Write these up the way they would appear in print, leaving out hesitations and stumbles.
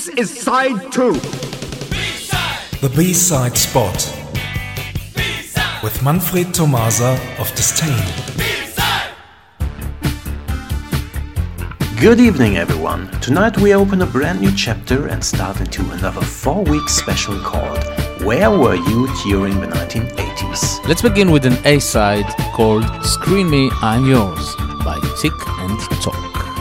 This is side 2. B-side. The B-side spot. B-side. With Manfred Tomasa of Disdain. Good evening, everyone. Tonight we open a brand new chapter and start into another 4-week special called Where Were You During the 1980s? Let's begin with an A-side called Screen Me, I'm Yours by Tick and Talk.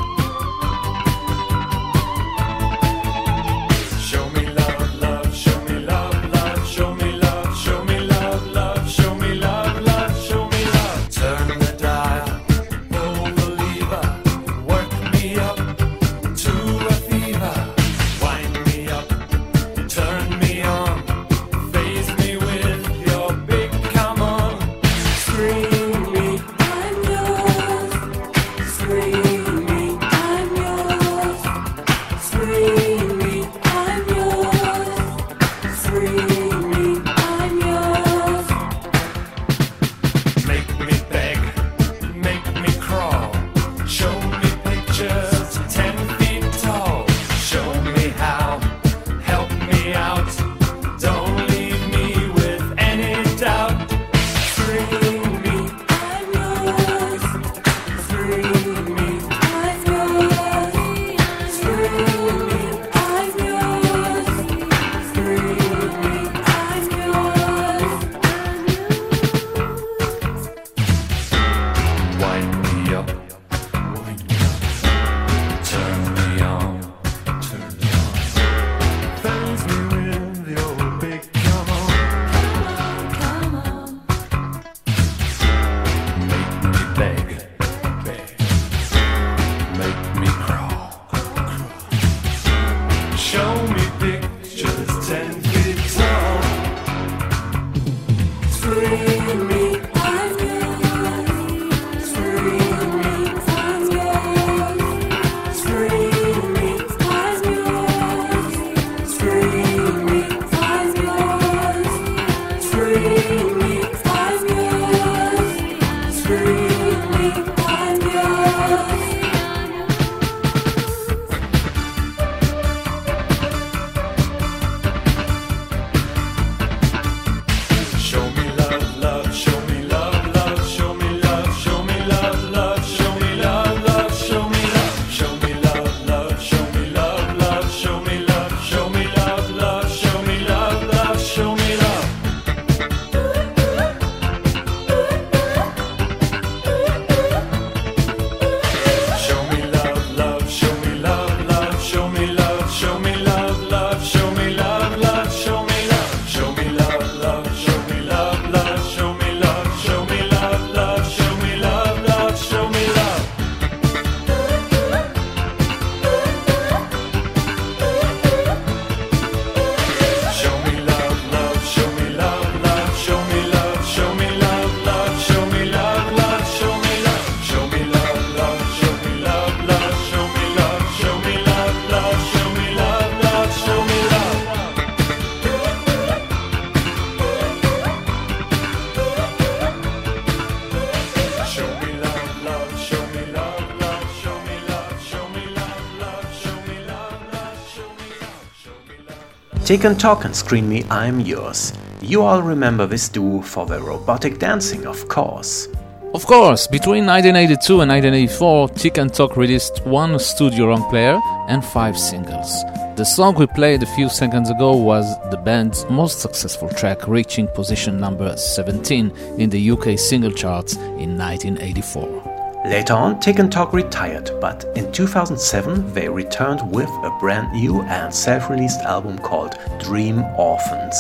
Tick and Talk and Screen Me, I'm Yours. You all remember this duo for their robotic dancing, of course. Of course, between 1982 and 1984, Tick and Talk released 1 studio long player and 5 singles. The song we played a few seconds ago was the band's most successful track, reaching position number 17 in the UK single charts in 1984. Later on, Tick and Talk retired, but in 2007 they returned with a brand new and self-released album called Dream Orphans.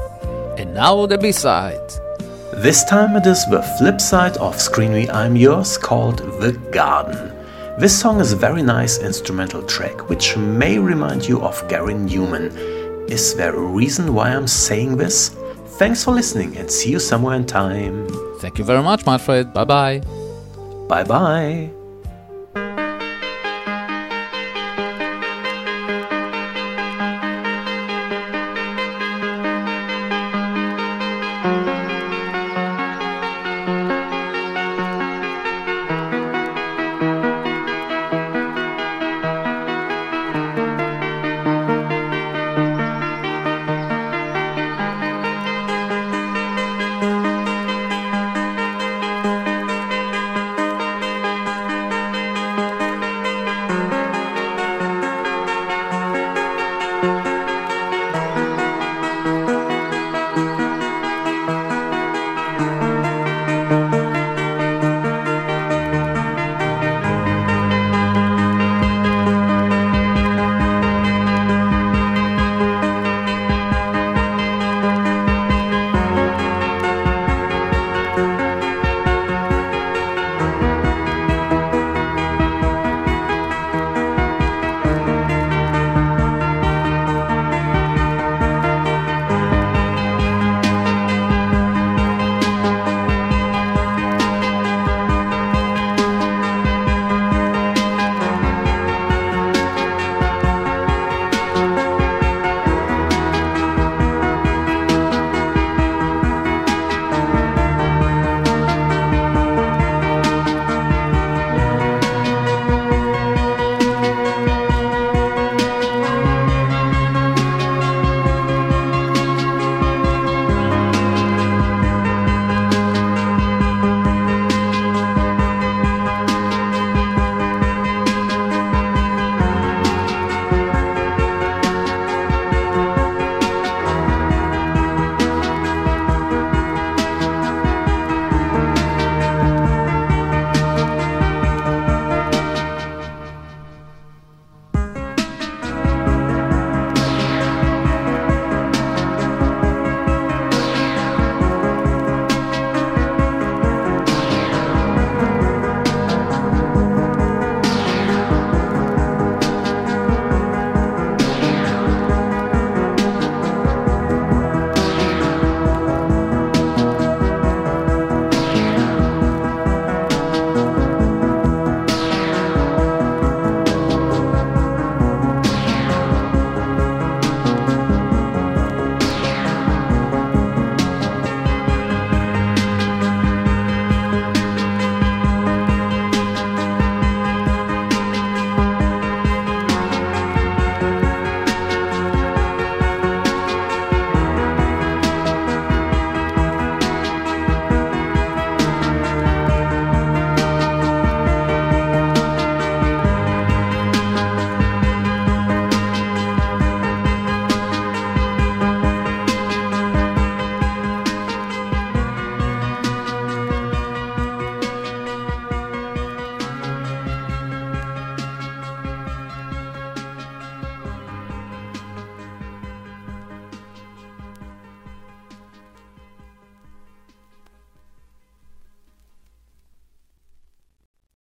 And now the B-side. This time it is the flip side of Screen Me, I'm Yours, called The Garden. This song is a very nice instrumental track, which may remind you of Gary Newman. Is there a reason why I'm saying this? Thanks for listening and see you somewhere in time. Thank you very much, Manfred. Bye-bye. Bye-bye.